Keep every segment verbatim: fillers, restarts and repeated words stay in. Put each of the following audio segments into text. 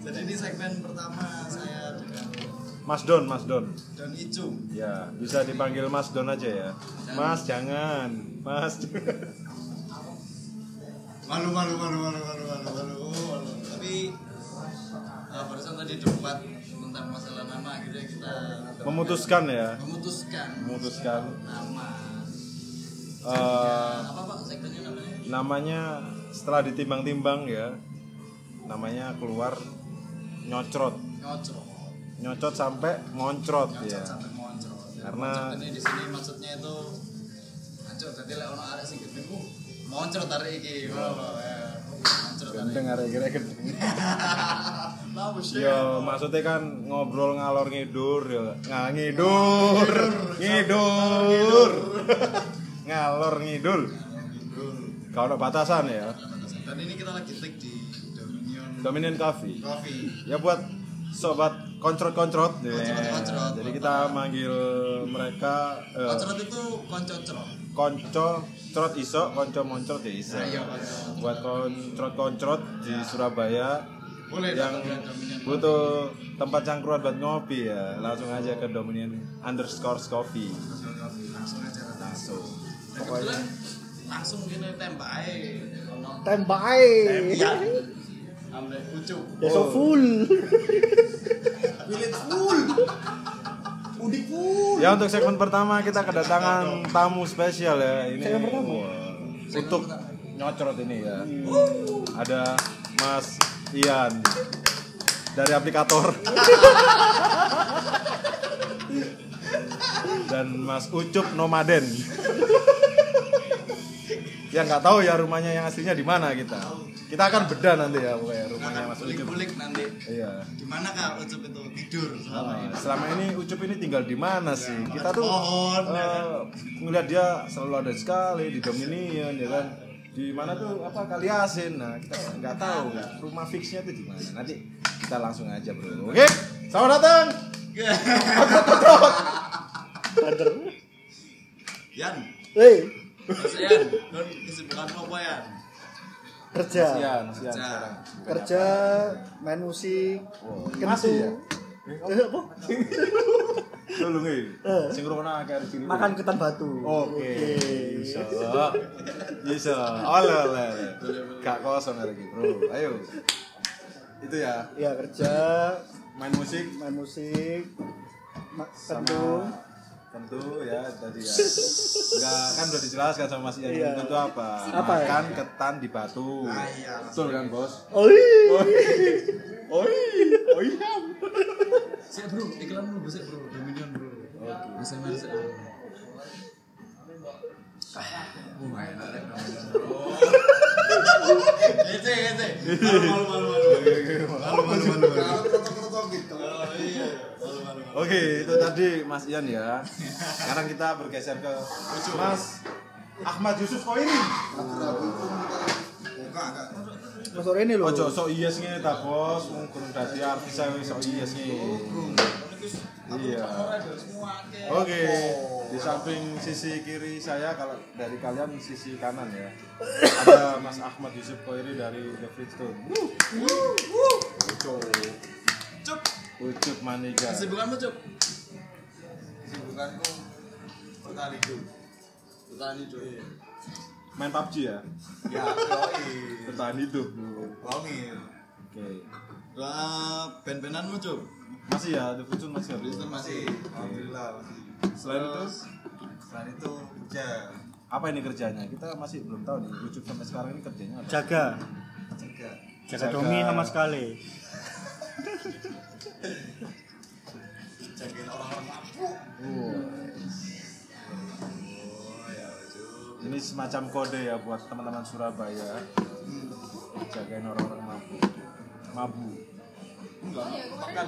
Jadi ini segmen pertama saya dengan Mas Don, Mas Don. Don Icung. Ya, bisa dipanggil Mas Don aja ya. Mas jangan, Mas. Malu malu malu malu malu malu malu. malu. Tapi uh, barusan tadi debat tentang masalah nama akhirnya kita Memutuskan ya. memutuskan Memutuskan. nama. Uh, Apa Pak segmennya namanya? namanya setelah ditimbang-timbang ya, namanya keluar nyocrot. Nyocrot. Nyocot sampai moncrot Nyocrot ya. sampai moncrot. Karena- Moncrot ini di sini maksudnya itu ancur dadi lek ono arek sing gedhe ku moncrot arek iki. Oh, ya. Moncrot arek. Gendeng arek kira gendeng. Lah wis Yo, maksudnya kan ngobrol ngalor ngidur ya. Nggak ngidur. Ngidur. Ngalor ngidul. Kalau ada batasan ya. Dan ini kita lagi take di Dominion Dominion Coffee. Coffee. Ya buat sobat koncrot-koncrot. Ya. Koncrot-koncrot. Jadi kita manggil mereka eh, Koncrot itu koncocrot. konco crot iso, konco moncrot ya iso. Nah, iya, koncrot. Buat koncrot-koncrot di Surabaya Boleh yang datang ke Dominion butuh tempat cangkruan buat ngopi ya, langsung aja ke Dominion underscore coffee. Coffee. Langsung aja datang. Langsung. Dan kebetulan langsung gini tembak aja. Ono Tembak ae. tembian. Ambek ucuk. Deso full. Bilit full. Udik full. Ya untuk segmen pertama kita kedatangan tamu spesial ya. Ini Segmen pertama? wah, untuk nyocrot ini ya. Ada Mas Ian dari aplikator. Dan Mas Ucup Nomaden. Ya nggak tahu ya rumahnya yang aslinya di mana kita. Kita akan bedah nanti ya pokoknya rumahnya Mas Ucup. Bulik-bulik nanti. Iya. Di mana Kak Ucup itu tidur selama Ah, ini? selama ini Ucup ini tinggal di mana sih? Kita tuh pohon, ya eh, ngeliat dia selalu ada sekali di Dominion ya kan. Di mana tuh apa Kaliasin. Nah, kita nggak tahu rumah fixnya tuh di mana. Nanti kita langsung aja, Bro. Oke. Selamat datang. Kader. Yan, Hei, Mas Yan, don kesibukan apa Yan? kerja. Sian, sian Kerja. sekarang. Kerja, main musik. Wow, kentu. masih ya? Eh, apa? Lu nggih. Eh. Sing ngrungokno akeh sini. Makan ketan batu. Oke. Bisa. Bisa. Ole ole. Gak kosong hari ini, Bro. Ayo. Itu ya, Ya kerja, main musik main musik. Ma- sama kentu. tentu ya tadi ya. Enggak kan udah dijelaskan sama Mas Ian. Iya. Tentu apa? Apa ya? Makan ketan di batu. Ah, iya. Betul kan, Bos? Oi. Oi, oi. Sik bro, iklan dulu sik bro, Dominion bro. Oke. Bisa masuk. Oh, enak rek Dominion. Oh. Ece, ece. Malu malu malu. Malu malu malu. Kalau krotok-krotok gitu. Oh iya. Malu malu. Oke, itu tadi Mas Ian ya. Sekarang kita bergeser ke Mas Ahmad Yusuf Koiri. Buka enggak? Mas sore ini loh. Ojo sok iyes ngene ta, Bos. Wong kurang dadi artis ae sok iyes ngene. Iya. Oke, di samping sisi kiri saya kalau dari kalian sisi kanan ya. Ada Mas Ahmad Yusuf Koiri dari The Flintstone. Ucup. Cuk. Ucup Maniga. Kesibukanmu, Cuk? Kesibukanku petani, Cuk. Petani, Cuk. Main P U B G ya? Ya, yoi. Petani tuh. Longir. Oke. Lah, band-bandanmu, Cuk? Masih ya, The Flintstone masih ya? Kristen masih. Alhamdulillah masih. Selain itu, Selain itu kerja. apa ini kerjanya? Kita masih belum tahu nih. Ucup sampai sekarang ini kerjanya apa? Jaga. Jaga. Jaga Jaga. Domi sama sekali. Jagain orang-orang mabuk. Oh. Oh, ya, Cuk. Ini semacam kode ya buat teman-teman Surabaya. Jagain orang-orang mabuk. Mabuk. Enggak, makan.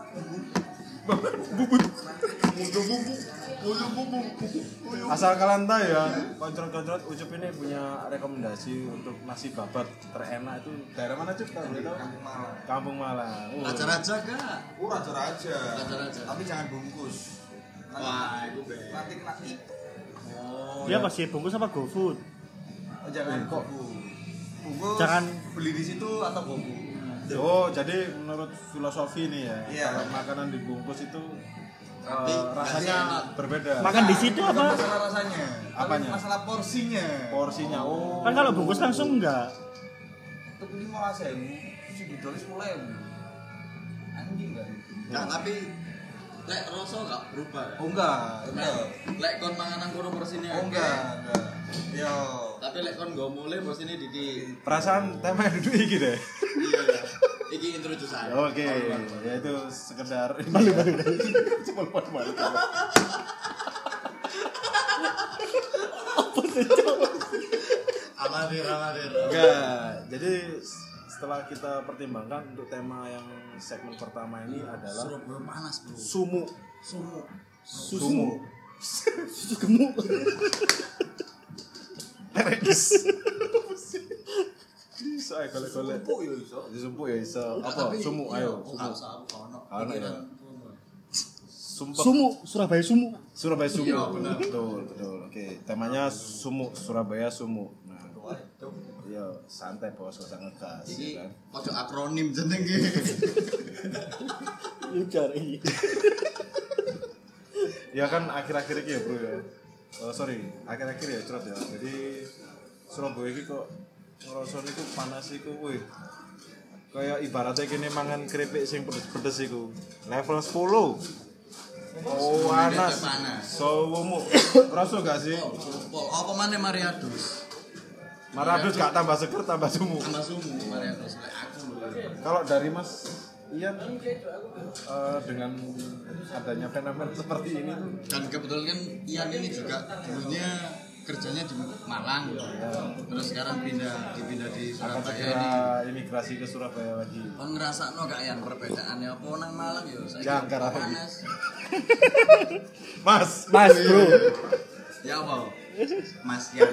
Asal kalian tahu ya, koncrot-koncrot Ucup ini punya rekomendasi untuk nasi babat terenak itu daerah mana Cup? Tahu tahu? Kampung Malang. Kampung Malang. Oh. Raja-raja kak? Oh, raja-raja. Raja-raja. Tapi jangan bungkus. Wah, itu be. Nanti kena tipu. Oh, Dia pasti bungkus apa GoFood? Oh, jangan kok. Bungkus. Jangan- beli di situ atau gobu. Oh, jadi menurut filosofi nih ya, Iya. kalau makanan dibungkus itu Tapi eh, rasanya berbeda. Makan di situ Bukan apa? masalah rasanya. Apanya? Tapi masalah porsinya. Porsinya. Oh. Kan kalau bungkus langsung enggak. Tapi ini mau rasain. Si Gidolis mulai. Anjing enggak? Enggak, tapi lek rasa enggak berubah. Oh enggak, enggak. Lek kon manganan kono porsine. Oh enggak, enggak. Yo. Tapi lek kon nggo mulai porsine dikit. Perasaan tema duduk iki deh. Iya. Iki introduction. Oke, ya itu sekedar balik balik. Cepol pot balik. Apa sih, Cok? Amatir, amatir. Enggak. Jadi setelah kita pertimbangkan untuk tema yang segmen pertama ini adalah Surabaya panas, Bro. sumu. Sumu. Sumu. Susu gemuk. Terekis. Bisa ya golek-golek. Empuk yo iso. Disumpuk ya iso. Enggak, Apa? tapi- Sumu, iya, ayo. oh, Sumu. nggak usah, aku nggak ono. Nggak ono ya? Pikiran. Sumpah. Sumu, Surabaya sumu. Surabaya Sumu. Iya, benar. Betul, betul. Oke, temanya Sumu, Surabaya Sumu. Nah, iya, santai bos, gak usah ngegas, Iki ya kan. ojo akronim jeneng iki. Lucar ini. Ya kan akhir-akhir ini ya bro ya. Oh, sorry, akhir-akhir ya cerot ya. Jadi Surabaya ini kok ngerasa niku panas iku, wih. Kayak ibaratnya gini mangan keripik sing pedes-pedes iku. Level sepuluh. Oh, panas. Panas. Sumu. Ngerasa gak sih? Pol, apa maneh Mariadus? Maradus gak tambah seger, tambah sumu. Tambah sumu Mariadus lek aku lho. Kalau dari Mas Ian eh, dengan adanya fenomena seperti ini tuh Dan kebetulan kan Ian ini juga dulunya kerjanya di Malang. Terus sekarang pindah dipindah di akan Surabaya segera ini. imigrasi ke Surabaya lagi. Kon ngrasakno gak Ian perbedaannya apa nang Malang yo saiki Jangkar apa? panas. Mas, Mas, Bro. Ya apa? Mas Ian.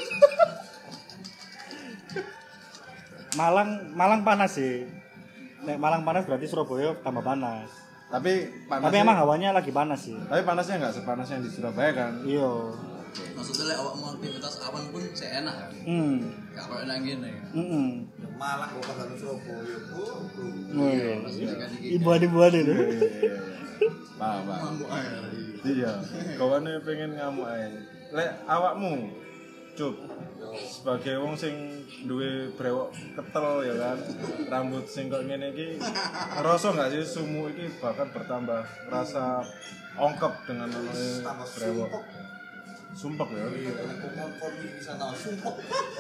Malang, Malang panas sih. Nek Malang panas berarti Surabaya tambah panas. tapi panasnya, Tapi emang hawanya lagi panas sih. tapi panasnya nggak sepanas yang di Surabaya kan? Iya. Maksudnya lek awakmu aktivitas awan pun seenak kan. Hmm. Gak koyo nang kene. Heeh. Malang kok kagak Surabaya, Bro. Oh iya. Maksudnya kan iki. Ibuan-ibuan itu. Iya, iya, iya. Paham, paham. Mampu air. Iya, kawane pengen ngamuk ae. Lek awakmu, Cuk, sebagai wong sing duwe brewok ketel ya kan, rambut sing kok ngene iki, ngerasa gak sih sumu iki bahkan bertambah rasa ongkep dengan namanya Tambah brewok. sumpek. Sumpek ya. Kompor di sana sumpek.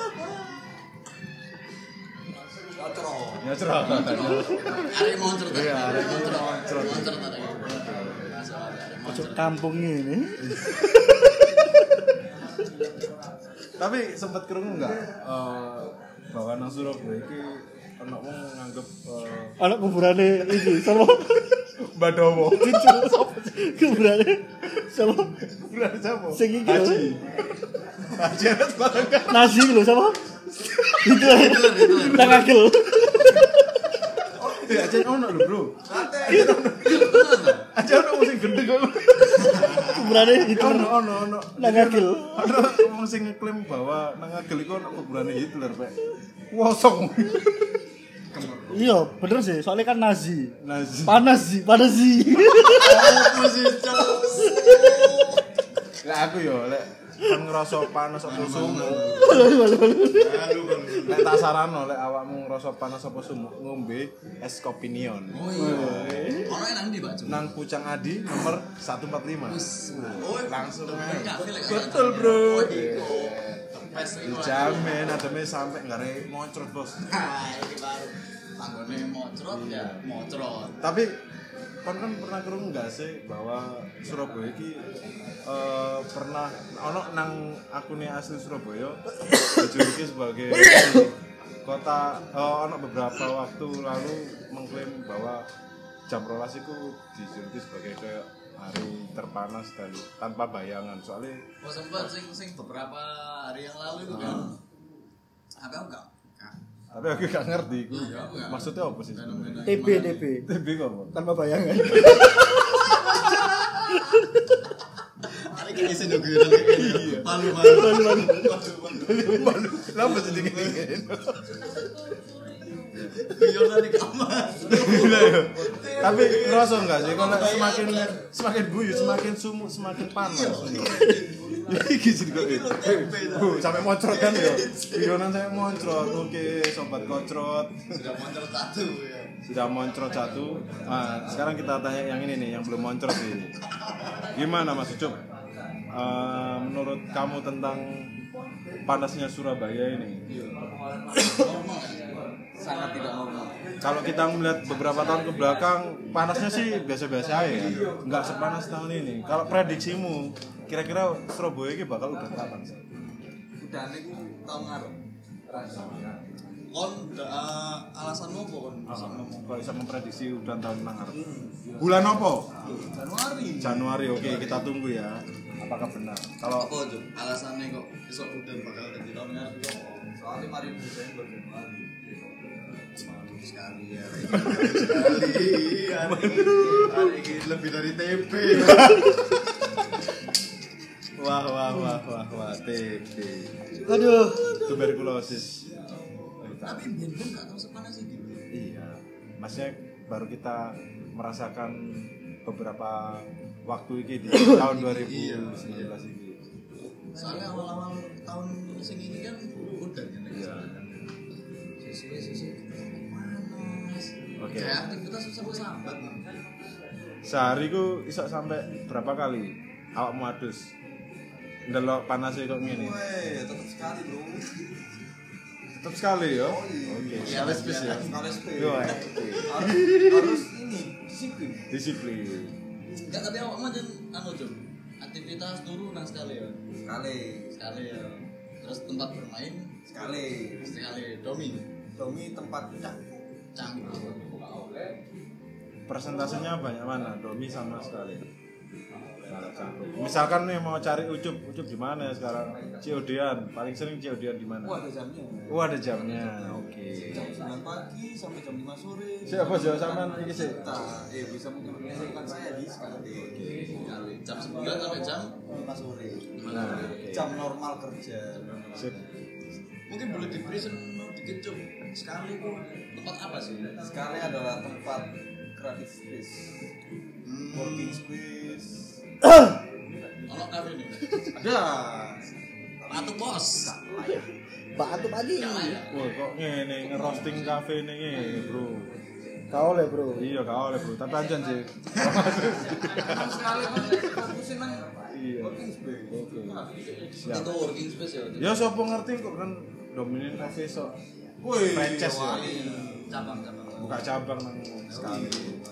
Kacro. Ya cerah. Arek moncer ta. Iya, arek moncer. moncer. Moncer ta. Pojok kampung ini. Tapi sempat krungu enggak eh bahwa nang Surabaya iki ana wong nganggep eh Anak kuburane iki sama Badowo. cucu sapa sih? Kuburane sama Bulan siapa? sing iki lho. Haji. Haji anak bangga. Nasi lho sama. Itu nang agel. Ya Haji ono lho, Bro. Kate. Haji ono wong sing gendeng kok. Kuburane itu Ono ono ono. nang agel. Ono wong sing ngeklaim bahwa nang Agel iku ono kuburane Hitler, Pak. Wosong. Iya, bener sih. Soalnya kan Nazi. Nazi. Panas sih, panas sih. Apa sih, Cok? Lah aku yo lek kan ngerasa panas apa sumu. Lek tak sarano lek awakmu ngerasa panas apa sumu, ngombe es kopi neon. Oh iya. Ono nang ndi, Pak? Nang Pucang Adi nomor seratus empat puluh lima. Oh, Langsung temen aja. kafe lek Betul, katanya. Bro. Oh, iku. Tepes iku. Dijamin ademe sampai ngare ngocrot, Bos. Nah, iki baru tanggone mocrot ya, mocrot. Tapi kon kan pernah krungu enggak sih bahwa Surabaya iki eh, pernah ono nang akune asli Surabaya dijuluki sebagai kota eh, ono beberapa waktu lalu mengklaim bahwa jam rolas iku dijuluki sebagai kayak hari terpanas dan tanpa bayangan soalnya Oh, sempat sing sing beberapa hari yang lalu itu kan. Apa enggak? tapi aku gak ngerti iku. Iya, aku nggak. Maksudnya apa sih? Fenomena T B gimana? T B T B kok apa? tanpa bayangan. Hari ini isi nunggu malu malu malu malu Lah apa sih dingin? Guyonan di kamar. Gila ya. Tapi ngerasa enggak sih kalau semakin semakin guyu semakin sumuk semakin panas. Iki sih kok. Bu, sampai moncrot kan ya. Guyonan saya moncrot. Oke, sobat kocrot. Sudah moncrot satu ya. Sudah moncrot satu. Nah, sekarang kita tanya yang ini nih, yang belum moncrot ini. Gimana Mas Ucup? Uh, menurut kamu tentang panasnya Surabaya ini? Sangat tidak normal. Kalau kita melihat beberapa tahun ke belakang, panasnya sih biasa-biasa aja, nggak sepanas tahun ini. Kalau prediksimu, kira-kira Surabaya ini bakal udah kapan sih? Udah nih tahun ngarep. Kon uh, alasanmu apa kon? Kalau bisa memprediksi udah tahun ngarep. Bulan apa? Januari. Januari, oke kita tunggu ya. Apakah benar? Kalau Apa tuh alasannya kok besok udah bakal ganti tahun ngarep kok? Soalnya lima ribu Desember Januari. Malu sekali ya. Sekali. Hari ini lebih dari T P. wah wah wah wah wah T P. Aduh. Tuberkulosis. Tapi ben-ben enggak tahu sepanas itu. Iya. Maksudnya baru kita merasakan beberapa waktu ini di tahun dua ribu sembilan belas ini. Soalnya awal-awal tahun sing ini kan udah kan ya. Sisi-sisi panas. Oke. Kayak aktivitas sampai sambat. Sehari ku iso sampai berapa kali awakmu adus? Ndelok panasnya kok ngene. Weh, tetap sekali bro. Tetap sekali ya. Oke, sekali spes ya. Sekali space. Yo, harus, harus ini disiplin. disiplin. Enggak, tapi awakmu aja anu Jom. Aktivitas turu nang sekali ya. Sekali. Sekali ya. Terus tempat bermain Sekali. sekali domi. Domi tempat cak. Canggung. Persentasenya banyak mana? Domi sama sekali. Misalkan nih mau cari Ucup, Ucup di mana ya sekarang? C O D-an, paling sering C O D-an di mana? Wah, ada jamnya. Oh, ada jamnya. Oke. Jam sembilan pagi sampai jam lima sore. Siapa jauh sampean iki sih? Nah, eh bisa menyaksikan saya di sekali. Sekali. Jam sembilan sampai jam lima sore. Nah, oke. Jam normal kerja. Sip. mungkin boleh diberi seno dikit Cuk. Sekali kok tempat apa sih? Sekali adalah tempat creative space, Hmm. working space. Ono kafe nih. Ada. Patu bos. Batu pagi. Wah, kok ngene ngerosting cafe ini ngene, Bro. Kau le bro. Iya, kau oleh Bro. Tapi anjan sih. Sekali fokusin nang Iya. working space. Oke. Siap. Itu working space ya. Ya sapa ngerti kok kan Dominion Cafe sok Wih, franchise ya. Cabang-cabang. Buka cabang nang sekali.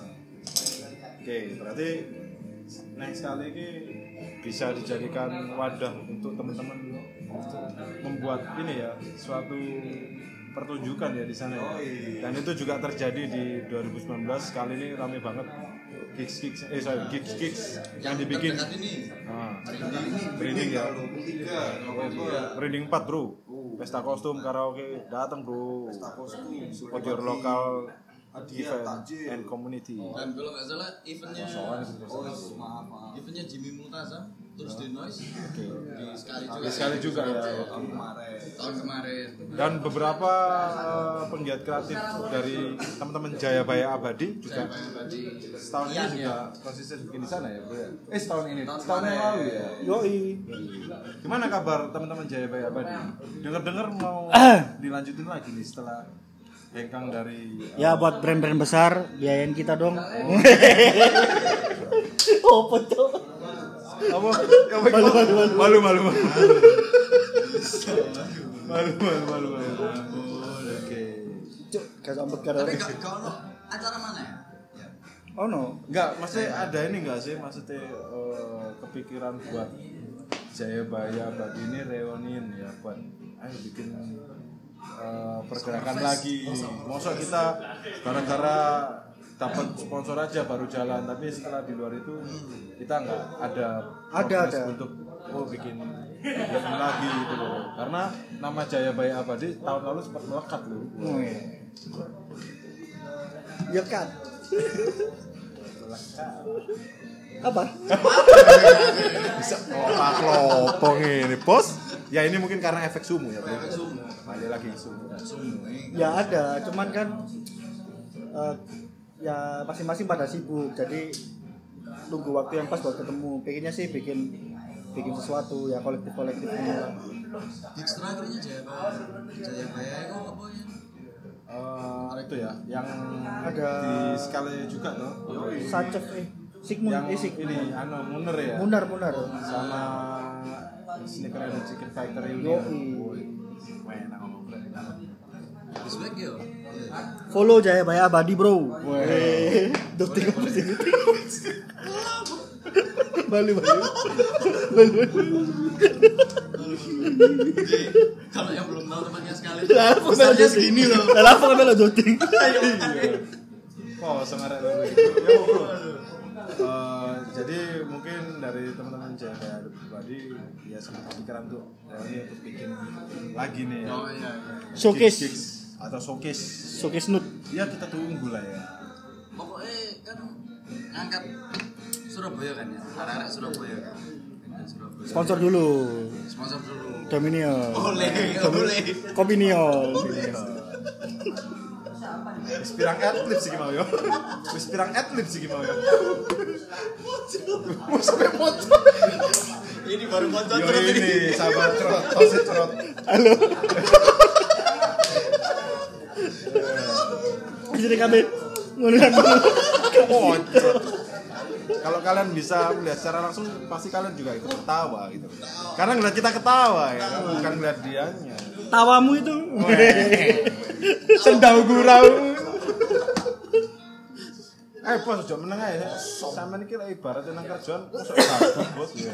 Oke, berarti next kali ini bisa dijadikan wadah untuk teman-teman membuat ini ya suatu pertunjukan ya di sana ya. Dan itu juga terjadi di dua ribu sembilan belas kali ini rame banget gigs gigs eh sorry gigs gigs yang dibikin. Terdekat ini. Nah, ini branding ya. tiga November. Branding empat bro. Pesta kostum karaoke datang bro. Pesta kostum. Support your local Hadiah, event takjil. and community. Dan kalau nggak salah eventnya Oh, maaf maaf. eventnya Jimmy Multaza terus di Noise Oke. di sekali juga. Di sekali juga ya. Tahun kemarin. Tahun kemarin. Dan beberapa uh, penggiat kreatif dari teman-teman Jayabaya Abadi juga Tadi setahun ini Ian, juga konsisten bikin di sana ya bro ya? Eh setahun ini, setahun yang lalu ya. Yoi. Gimana kabar teman-teman Jayabaya Abadi? Dengar-dengar mau dilanjutin lagi nih setelah hengkang dari Ya buat brand-brand besar biayain kita dong. Oh betul. apa? Malu malu malu malu malu malu malu malu malu malu. Oke. Cuk, kayak sambet kan. tapi kau kau no acara mana ya? Ya. Oh no. Enggak, maksudnya ada ini enggak sih maksudnya eh, kepikiran buat Jayabaya Abadi ini reunion ya buat ayo bikin eh, pergerakan lagi. Masa kita gara-gara dapat sponsor aja baru jalan, tapi setelah di luar itu kita nggak ada Ada, progres ada. untuk oh bikin bikin lagi gitu loh. Karena nama Jayabaya Abadi tahun lalu sempat melekat loh. Wih. Ya kan. Apa? Bisa otak lopong ini, Bos. Ya ini mungkin karena efek sumu ya, Bro. Efek sumu. Balik lagi sumu. Sumu. eh. Ya ada, cuman kan eh, ya masing-masing pada sibuk, jadi tunggu waktu yang pas buat ketemu. Pengennya sih bikin bikin sesuatu ya kolektif-kolektif ini lah. Gigs terakhirnya Jaya Jayabaya itu apa ya? Eh, itu ya, yang Ada di Skala juga tuh. Sacef eh Sigmund Yang eh Sig ini anu Muner ya. Munar Munar. Sama Sneaker and Chicken Factory ini. Yoi. Main ngomong bro. Respect yo. Follow Jayabaya Abadi, Bro. Weh. Doting apa sih? Balik balik. Balik balik. Kalau yang belum tahu tempatnya sekali. Lah, apa Besarnya segini loh. Lah, apa melo doting? Oh, sengaja dulu. Ya, Bro. Eh, jadi mungkin dari teman-teman Jaya pribadi ya sempat pikiran tuh ya, ini untuk bikin lagi nih ya. Oh iya. Showcase. Gigs atau showcase. Showcase nut. Ya kita tunggu lah ya. Pokoknya kan ngangkat Surabaya kan ya. Arek-arek Surabaya kan. Ngangkat Surabaya. Sponsor dulu. Sponsor dulu. Dominion. Oleh, oleh. Kopinion. Wis pirang adlib sih mau yo. Wis pirang adlib sih mau yo. Wis sampe foto. Ini baru foto Yo terus ini sahabat cerot, tosit cerot. Halo. Jadi kami menggunakan Kalau kalian bisa melihat secara langsung pasti kalian juga ikut ketawa gitu. Karena ngeliat kita ketawa ya, bukan ngeliat dianya. tawamu itu. Sendau gurau. Eh bos, udah meneng aja. Sampeyan iki lek ibaratnya nang kerjaan kok sabut bos ya.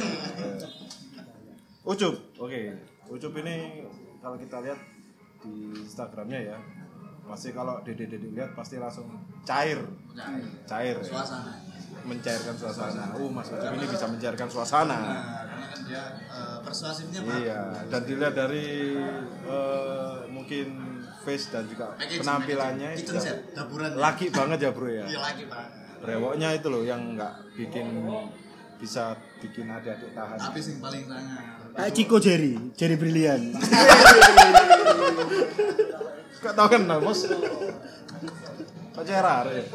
Ucup, oke. Ucup ini kalau kita lihat di Instagramnya ya, pasti kalau Dede-Dede lihat pasti langsung cair, cair, ya. Suasana. Mencairkan suasana. Uh, Mas Ucup ini bisa mencairkan suasana. Nah, karena kan dia uh, persuasifnya Pak. Iya, dan dilihat dari uh, mungkin face dan juga Packaging, penampilannya packaging. itu Kitchen set, dapuran. laki banget ya bro ya. Iya lagi Pak. Brewoknya itu loh yang nggak bikin bisa bikin adik-adik tahan. Tapi sing paling sangat. Kayak Chico Jerry, Jerry Brilian. Gak tau kan nah bos. Pacaran ya.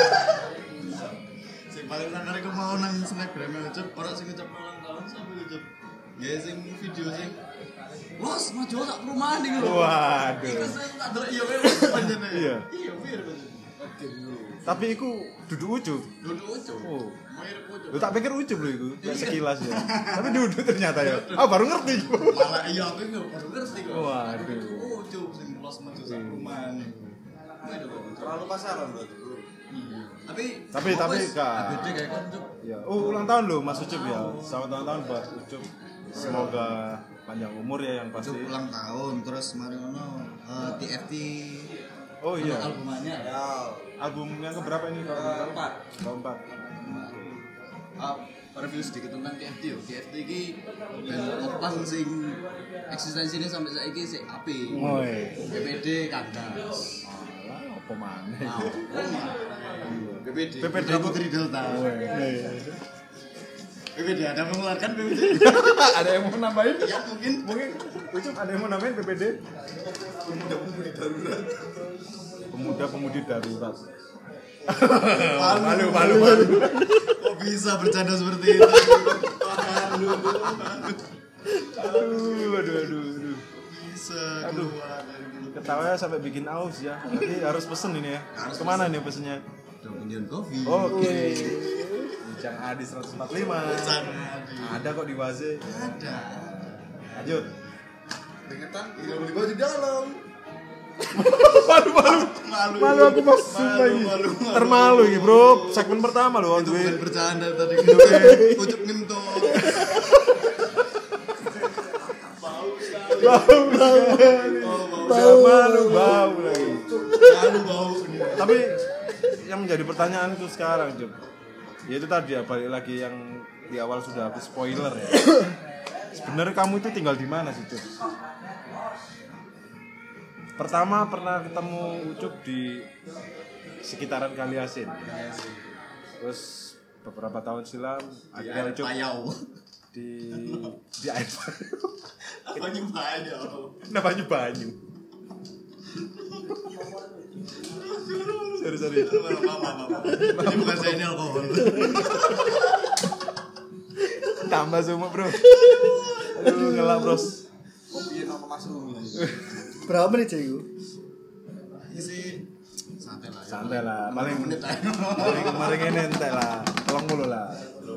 Sing paling sangat aku mau nang Snapgram Ucup, orang sing ngucap ulang tahun sampai Ucup. Ya sing video sing Bos, maju tak perumahan nih lho. Waduh. Iku sing tak delok iya kowe panjenengan. Iya. Iya, mir panjenengan. Oke dulu. Tapi iku duduk ucup. Duduk Ucup. Oh. Mir Ucup. Lu tak pikir ucup loh iku, kayak sekilas ya. Tapi duduk ternyata ya. Ah baru ngerti. Malah iya aku nggak baru ngerti kok. Waduh. Oh, Ucup sing los maju sak perumahan. Terlalu pasaran berarti. Iya. Tapi Tapi tapi gak kak. beda kayak kan Ucup. Ya, oh ulang tahun loh Mas Ucup ya. Selamat ulang tahun buat Ucup. Semoga panjang umur ya yang pasti. Ucup ulang tahun terus mari ngono eh, T F T Oh iya. albumnya ya. Album yang keberapa ini kalau boleh tahu? Keempat. Keempat. Uh, review sedikit tentang T F T yo. T F T iki band opang sing eksistensinya sampai saiki sik apik. Woi. B P D kandas. Alah, apa maneh? Wow. B P D. B P D Putra Putri Delta. B P D ada mengeluarkan B P D. Ada yang mau nambahin? Ya mungkin. Mungkin Ucup ada yang mau nambahin B P D? Pemuda-pemudi darurat. Pemuda-pemudi darurat. Malu, malu, malu. Kok bisa bercanda seperti itu? Malu. Aduh, aduh, aduh, aduh. Bisa Aduh. keluar dari mulut. Ketawanya sampai bikin aus ya. Nanti harus pesen ini ya. Harus Kemana nih pesennya? Dominion Coffee. Oke. Bincang Adi seratus empat puluh lima. Sangat. Ada kok di Waze. Ada. Lanjut. Keringetan tidak boleh bawa di dalam. Malu, malu. Malu. Malu aku masuk Malu, lagi. malu, malu. Termalu ya bro. Segmen pertama loh. Itu gue. bukan bercanda tadi. Ucup ngentut. Bau, bau, bau, malu, bau lagi. Malu bau. Tapi yang menjadi pertanyaan itu sekarang, Jum. Ya itu tadi ya, balik lagi yang di awal sudah aku spoiler ya. Sebenarnya kamu itu tinggal di mana sih, Jum? Pertama pernah ketemu Ucup di sekitaran Kaliasin. Terus beberapa tahun silam akhirnya Ucup Payau. di di air payau. Banyu banyu. Nah banyu banyu. Sorry sorry. Ini bukan saya ini alkohol. Tambah semua bro. Aduh ngelak bros. Kopi sama Mas Rumi. Berapa menit sih itu? Isi santai lah. Santai lah. Paling menit aja. paling kemarin ini entek lah. Tolong mulu lah.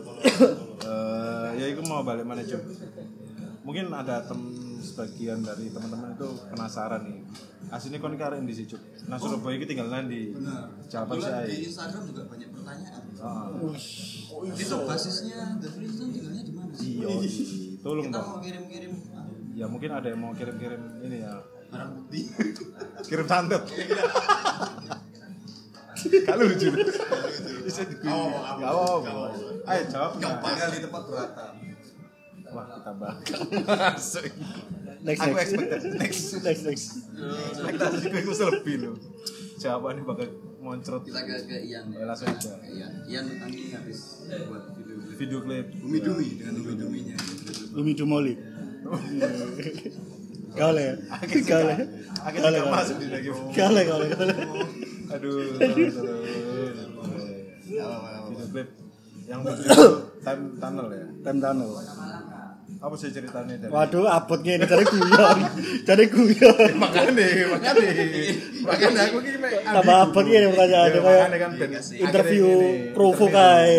Eh ya itu mau balik mana Jum? Mungkin ada tem sebagian dari teman-teman itu penasaran nih. Aslinya kon karen di situ. Nah Surabaya itu tinggal di Benar. Jawaban Kebetulan saya. di Instagram juga banyak pertanyaan. Ah. Itu basisnya The Flintstones tinggalnya di mana sih? Iya. Tolong Kita dong. mau kirim-kirim Ya mungkin ada yang mau kirim-kirim ini ya. barang bukti. Kirim santet. Kalau lucu. Bisa di. Oh, Enggak apa-apa. Ayo jawab. Gampang. Tinggal di tempat berata. Wah, kita bakal masuk. Next, Aku next. expected next. Next next. Ekspektasi gue itu lebih loh. Jawabannya bakal moncrot. Kita ke ke Ian ya. Langsung aja. Ke Ian. Ian nanti habis buat video klip. Video klip. Umi Dumi dengan Umi Duminya. Umi Dumoli. Gale ya. Gale. Akhirnya nggak masuk di lagi. Gale gale gale. Aduh, tolong, tolong. Video klip yang video time tunnel ya. Time tunnel. Apa sih ceritanya dari? Waduh, abot ngene cari guyon. Cari guyon. Makanya, makanya, makanya aku ini mek. Tambah abot ngene pertanyaane Ya, kayak makanya kan ben interview akhirnya ini, provo interview. kae.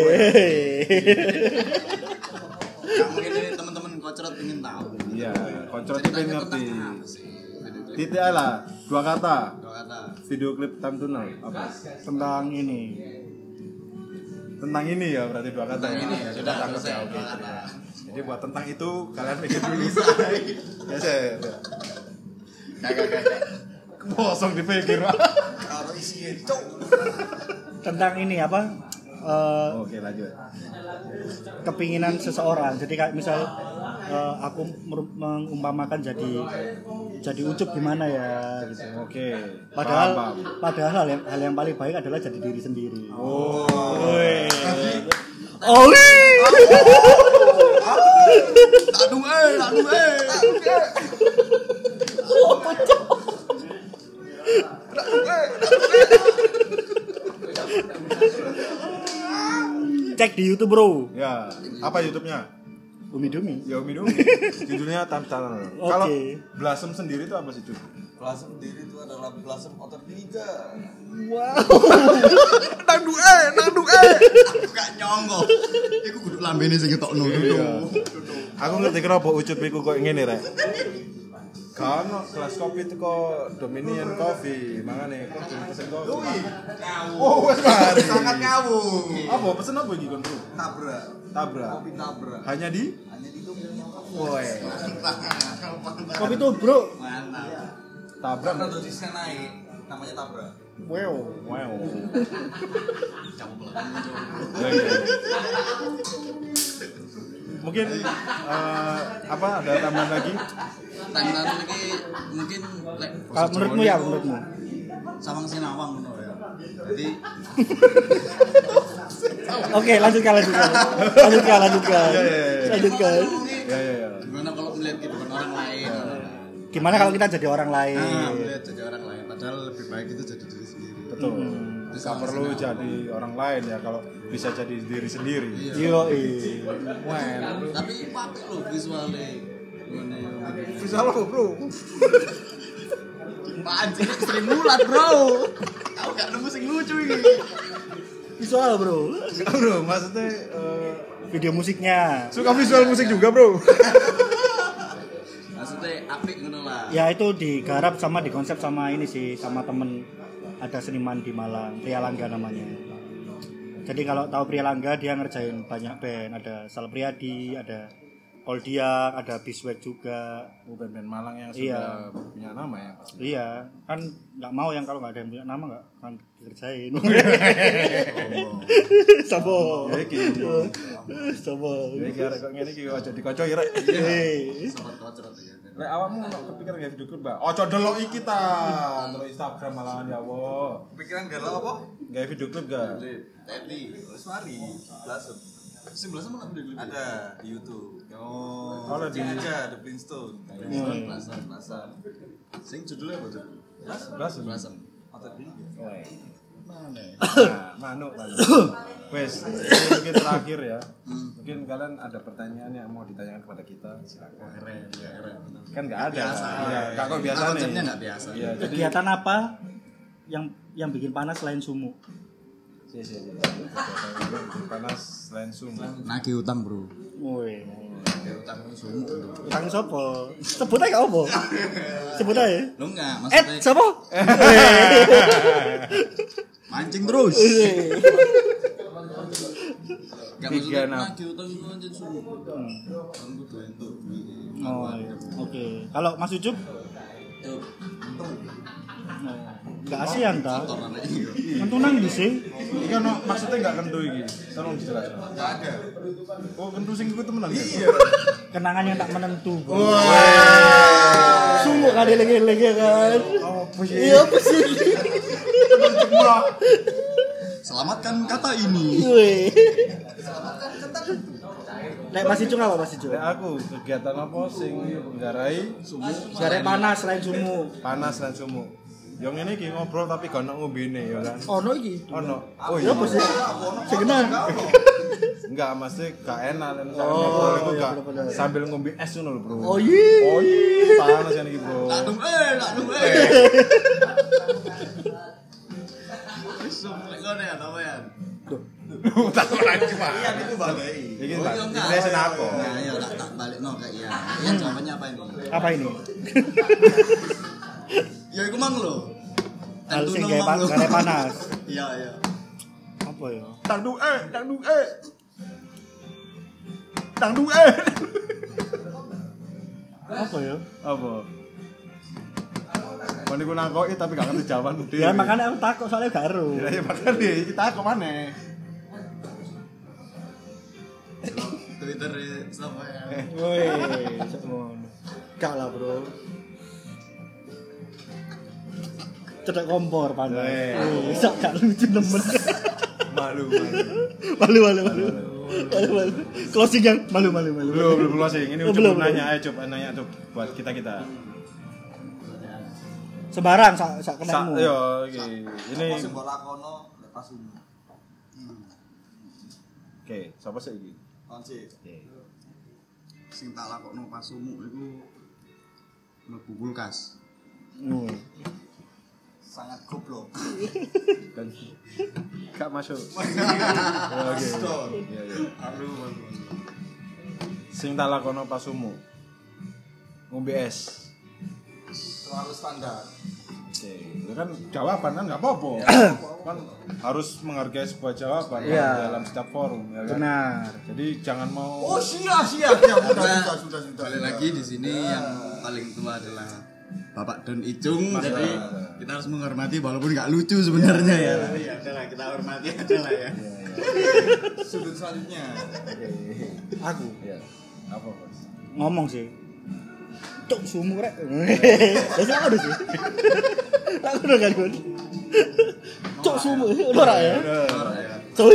Nah, mungkin ini teman-teman kocrot ingin tahu. Iya, koncrot Ceritanya pengen ngerti. tentang apa sih video klip? Titik aja lah, dua kata. Dua kata. Video klip time tunnel apa? Tentang ini. Tentang ini ya berarti dua kata. Tentang ya? ini ya, sudah Tangkap selesai. ya, oke. Dua kata. Jadi buat tentang itu kalian mikir dulu. Ya saya. Kagak kagak. Kosong dipikir Pak. Karo isinya cok. Tentang ini apa? Eh, Oke lanjut. kepinginan seseorang. Jadi kayak misal eh, aku mer- mengumpamakan jadi jadi Ucup gimana ya gitu. Oke. Padahal Paham, paham. padahal hal yang, hal yang paling baik adalah jadi diri sendiri. Oh. Woi. Oh. Aduh eh, aduh eh. Cek di YouTube, Bro. Ya, apa YouTube-nya? Umi Dumi. Ya Umi dong. Judulnya Time Tunnel. Oke. Kalau Blossom sendiri itu apa sih, Cuk? Plasem sendiri itu adalah plasem otot liga. Wow. Nang duwe, nang duwe. Aku gak nyonggo. Iku kudu lambene sing ketokno dulu. Aku ngerti kenapa Ucup iku kok ngene rek. Kan kelas kopi itu kok Dominion Coffee, mangane kok pesen kopi. Oh, wes mari. Sangat ngawur. Apa pesen apa iki kon, Bro? Tabrak. Tabrak. Kopi tabrak. Hanya di Hanya di Dominion Coffee. Woi. Kopi tuh, Bro. Mantap. Tabrak. Karena dosisnya naik, namanya tabrak. Wow. Wow. Campur. Ya, ya. Mungkin eh, apa ada tambahan lagi? Tangan lagi mungkin lek Kalau menurutmu ya, menurutmu. Sawang Sinawang ngono ya. Jadi Oke, lanjutkan, lanjutkan. Lanjutkan, lanjutkan. Ya, ya, ya. Lanjutkan. Ya ya ya. gimana kalau melihat kehidupan orang lain? Gimana kalau kita jadi orang lain? Nah, melihat jadi orang lain. Padahal lebih baik itu jadi diri sendiri. Betul. Hmm. Tidak perlu jadi orang lain ya kalau bisa jadi diri sendiri. Yo, Wah, Tapi pakai loh visualnya. Gimana? bisa lo bro. Anjir, Sri Mulat, Bro. Aku gak nemu sing lucu ini. visual, Bro. Enggak bro, maksudnya eh, Video musiknya. suka visual musik juga bro. Maksudnya apik ngono lah. Ya itu digarap sama dikonsep sama ini sih, sama temen ada seniman di Malang, Pria Langga namanya. Jadi kalau tahu Pria Langga dia ngerjain banyak band, ada Sal Priadi, ada Koldiak, ada Biswek juga. Oh, band-band Malang yang Iya. sudah punya nama ya pasti. Iya, kan nggak mau yang kalau nggak ada yang punya nama nggak kan dikerjain. Sabo. Ya iki. Sabo. Ya iki arek kok ngene iki aja dikocoi rek. Eh, Sobat kocrot ya. Lek awakmu ono kepikiran gawe video klip, Mbak? Ojo delok iki ta. Delok Instagram malahan ya Allah. Pikiran galau apa? Gawe video klip ga? Tadi, Wes mari. Plasem. sebelah sama nak video klip. Ada di YouTube. Oh, Kalau di aja The Flintstone. Hmm. Belasan, belasan. Sing judulnya apa tuh? Belasan. Belasan. Atau ini. Mana? Nah, manuk, manuk. Wes, ini mungkin terakhir ya. Mungkin kalian ada pertanyaan yang mau ditanyakan kepada kita, silakan. Keren, ya keren. Kan nggak ada. Biasa. Ya, nggak kok biasa nih. Konsepnya nggak biasa. Iya, jadi Kegiatan apa yang yang bikin panas selain sumu? si si si. Kegiatan bikin panas selain sumu. Nagih utang, Bro. Woi. Nagih utang sumu. Utang sopo? Sebut aja apa? Sebut aja. Lu enggak, Eh, maksudnya siapa? mancing terus. Enggak Tiga maksudnya enam. nagih utang itu anjing sumu. Kan kudu entuk. Oh, iya. Oke. Kalau Mas Ucup? Cuk. Enggak asian ta? Kotor anak iya. Mentunang di sih. Iki ono maksudnya nggak kentu iki. Tolong dijelaskan. Enggak ada. Oh, kentu sing iku temenan. Iya. Kenangan yang tak menentu. Sumu kali lagi-lagi kan. Oh, apa sih? Iya apa sih? Selamatkan kata ini. Woi. Nek Mas Icung apa Mas Icung? Nek aku kegiatan apa sing nggarai sumu Gare panas selain sumu. panas dan sumu. Yang ini iki ngobrol tapi gak ono ngombene ya kan. Ono iki. Ono. Oh Ya apa sih? Sing kenal. Enggak, mesti gak enak nek misalkan Oh, ngobrol itu iya, gak bener-bener. sambil ngombe es ngono lho, Bro. Oh iya. Oh iya, panas kan iki, Bro. Tak dum eh, tak dum eh. Isu lek ngene ya apa ya? Tak lagi, Pak. Iya itu balai. Iki Oh, tak. iya, enggak. Iki senako. Nah, iya tak tak balik no kayak iya. Iya jawabannya apa ini? Apa ini? Ya iku mang lho. Hal Tentu sing no gawe mang lho. pa- gare panas. Iya, iya. Apa ya? Tang du eh, tang du eh. Tang du eh. Apa ya? Apa? Mau niku nangkoki tapi gak ngerti jawaban dhewe. Ya makanya aku takut soalnya gak ero. Ya ya makane kita kok maneh. Twitter siapa ya? Woi, sok ngono. Gak lah, Bro. Cedek kompor panas. Weh. Wih, sok gak lucu nemen. Malu, malu. Malu malu malu. Malu malu. Closing yang malu malu malu. Belum, belum closing. Ini Oh, coba belum, nanya aja, coba nanya coba buat kita-kita. Sembarang sak sak Sa kenemu. yo iki. Ini Apa sing mbok lakono lepas ini. oke, sapa sih iki? Kon sih. Sing tak lakokno pas sumu iku mlebu kulkas. Hmm. Sangat goblok. Dan gak masuk. Oke. Stop. Iya, iya. Aduh, aduh. Sing tak lakono pas sumu. Ngombe es. Terlalu standar. Oke, itu kan jawaban kan nggak apa-apa. Kan harus menghargai sebuah jawaban kan, Iya. dalam setiap forum ya kan. Benar. Jadi jangan mau Oh sia sia sia sudah Karena sudah sudah sudah. balik lagi di sini yang paling tua adalah Bapak Don Icung. Mas Jadi Don. kita harus menghormati walaupun nggak lucu sebenarnya ya. Tapi ya udahlah kita hormati aja lah ya. Sudut selanjutnya. Aku ya apa Mas? ngomong sih. Cuk sumu rek. Wis aku sih. Aku udah kan. Cuk sumu ora ya. Coy.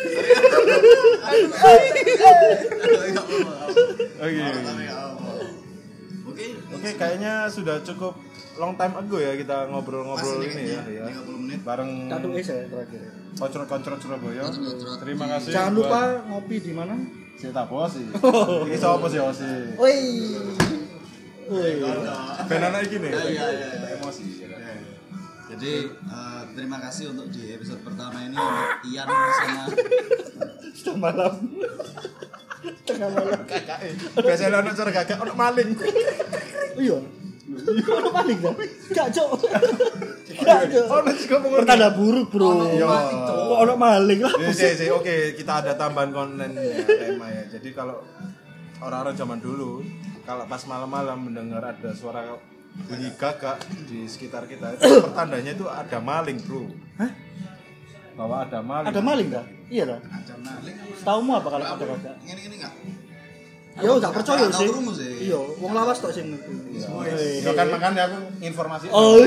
Oke. Oke. Oke, kayaknya sudah cukup long time ago ya kita ngobrol-ngobrol Pas ini ya, ya. tiga puluh menit. Bareng Satu es ya terakhir. koncrot-koncrot Surabaya. Koncrot-koncrot. Terima kasih. Jangan buat- lupa ngopi di mana? si Tapo sih. Iki sapa sih Osi? Woi. Woi. Ben anak iki nih. Iya, iya, iya. Emosi. ya kan? Jadi eh, terima kasih untuk di episode pertama ini untuk Ian sama Setengah malam. Tengah malam. Biasanya ono cara gagak ono maling. Iya. Ono paling kan? Gak cok. Gak cok. Ono juga pengen. Pertanda buruk, Bro. Yo. Kok ono maling lah. Ya, sih, sih. Oke, kita ada tambahan konten ya, tema ya. Jadi kalau orang-orang zaman dulu, kalau pas malam-malam mendengar ada suara bunyi gagak di sekitar kita, itu pertandanya itu ada maling, Bro. Hah? Bahwa ada maling. Ada maling dah? Iya dah. ada maling. Setaumu apa kalau ada kagak? Ini ini enggak? Yo gak percaya Nggak tahu sih. krungu sih. Iya, wong lawas tok sing ngerti. Ya kan makanya aku informasi. Oh.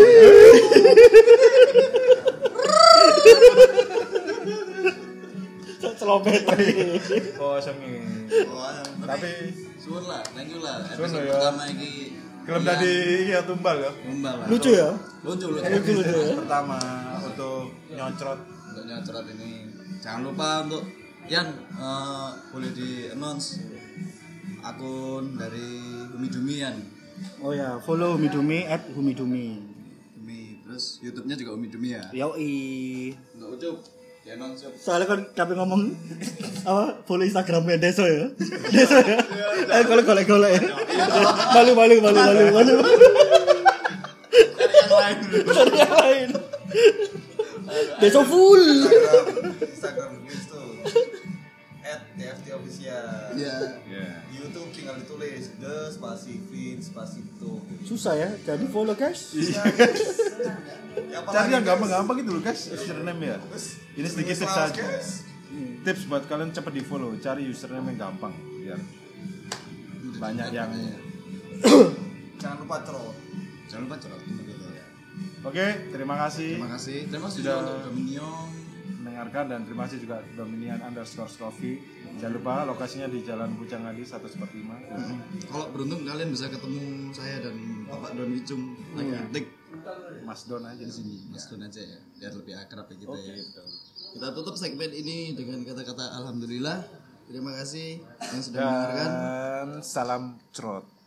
Celopet. Oh, sengi. Wah, Tapi suwun lah, thank you lah. Suwun Episode lah, ya. pertama iki film tadi ya tumbal ya. Tumbal lah. Lucu ya? Lucu lucu. Lucu lucu ya. Pertama untuk nyocrot. Untuk nyocrot ini jangan lupa untuk Yan eh, boleh di announce akun dari Humidumi Yan. Oh ya, follow Humidumi at Humidumi. Dumi, terus YouTube-nya juga Humidumi ya. Yoi. Untuk Ucup, di announce Ucup. Soalnya kan kami ngomong apa follow Instagramnya Deso ya. Deso ya. Eh golek golek golek ya. Malu malu malu malu malu. Cari yang lain dulu. Cari yang lain. Deso full. Instagram Instagram tuh at T F T official. Iya. Ya. YouTube tinggal ditulis the spasi fin spasi itu. Susah ya. Jadi follow guys. Ya, Cari yang gampang-gampang gitu loh guys, username ya. Ini sedikit tips saja. Tips buat kalian cepat di follow, cari username yang gampang biar banyak yang. Jangan lupa tro. Jangan lupa cerot. Oke, terima kasih Terima kasih. Terima kasih Sudah- juga untuk Dominion. mendengarkan dan terima kasih juga Dominion underscore Coffee. Jangan lupa lokasinya di Jalan Bujang Adi satu lima. Kalau beruntung kalian bisa ketemu saya dan Bapak Don Wicung lagi ngetik Mas Don aja di sini. Mas Don aja ya, biar lebih akrab ya kita Oke, ya. betul. Kita tutup segmen ini dengan kata-kata alhamdulillah. Terima kasih yang sudah mendengarkan. Dan salam crot.